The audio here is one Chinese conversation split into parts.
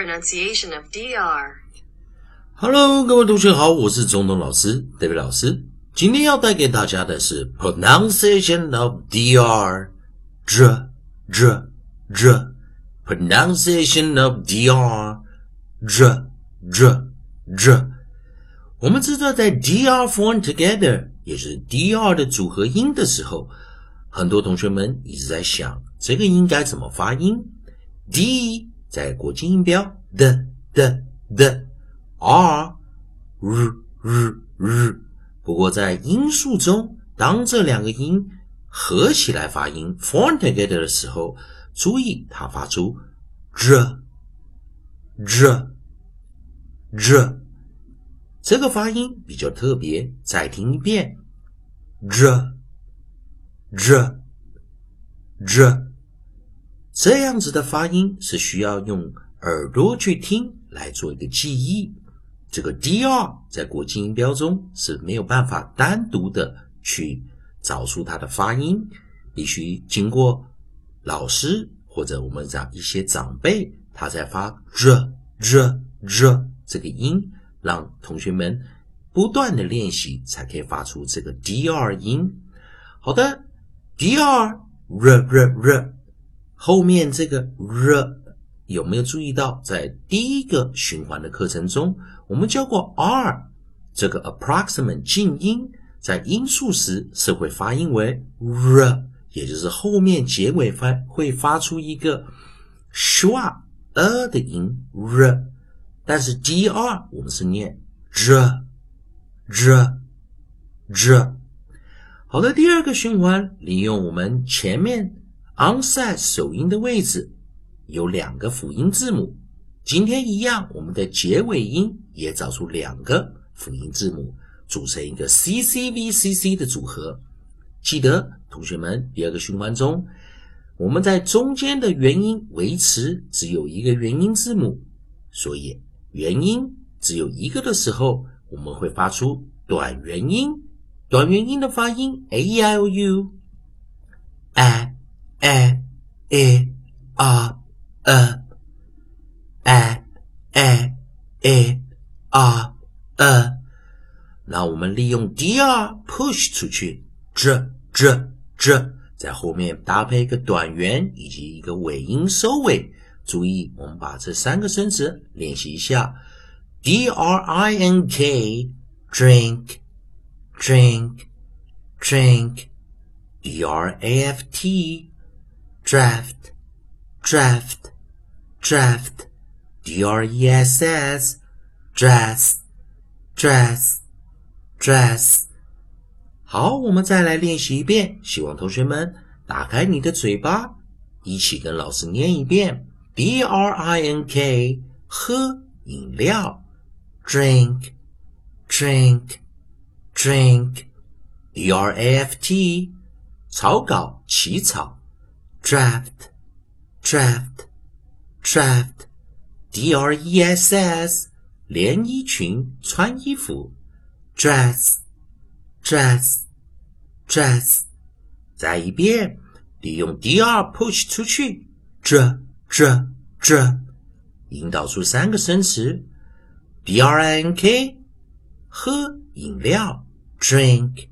pronunciation of DR. Hello， 各位同学好，我是总统老师 David 老师。今天要带给大家的是 pronunciation of DR. pronunciation of DR. 我们知道在 DR form together 也就是 DR 的组合音的时候，很多同学们一直在想这个音该怎么发音。 D 在国际音标的 R R， 不过在音素中，当这两个音合起来发音 form together 的时候，注意它发出 r， 这个发音比较特别，再听一遍 r， 这样子的发音是需要用耳朵去听来做一个记忆。这个 DR 在国际音标中是没有办法单独的去找出它的发音，必须经过老师或者我们讲一些长辈，他在发 r 这个音，让同学们不断的练习才可以发出这个 DR 音。好的， DR r 后面这个 r 有没有注意到在第一个循环的课程中我们教过 R 这个 approximate 近音在音素时是会发音为 r， 也就是后面结尾会发出一个 schwa 的音 r， 但是 DR 我们是念 r。 好的，第二个循环利用我们前面 onset 首音的位置有两个辅音字母，今天一样我们的结尾音也找出两个辅音字母，组成一个 CCVCC 的组合。记得同学们第二个循环中，我们在中间的元音维持只有一个元音字母，所以元音只有一个的时候，我们会发出短元音。短元音的发音 AEIOU那我们利用 DR push 出去 在后面搭配一个短元以及一个尾音收尾。注意我们把这三个生词练习一下 DRINK drink DRAFT draft DRESS dress。 好，我们再来练习一遍，希望同学们打开你的嘴巴，一起跟老师念一遍 DRINK 喝饮料 drink DRAFT 草稿起草 draft DRESS 连衣裙穿衣服 dress。 再一遍，利用 DR push 出去 引导出三个生词 DRINK 喝饮料 drink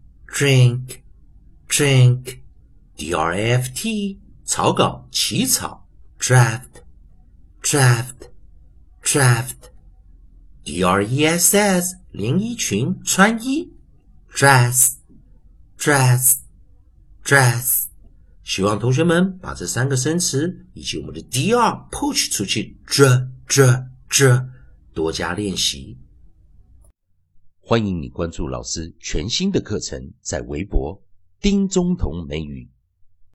DRAFT 草稿起草 draft DRESS 连衣裙穿衣 dress。 希望同学们把这三个生词以及我们的 DR push 出去多加练习。 欢迎你关注老师全新的课程，在微博丁中同美语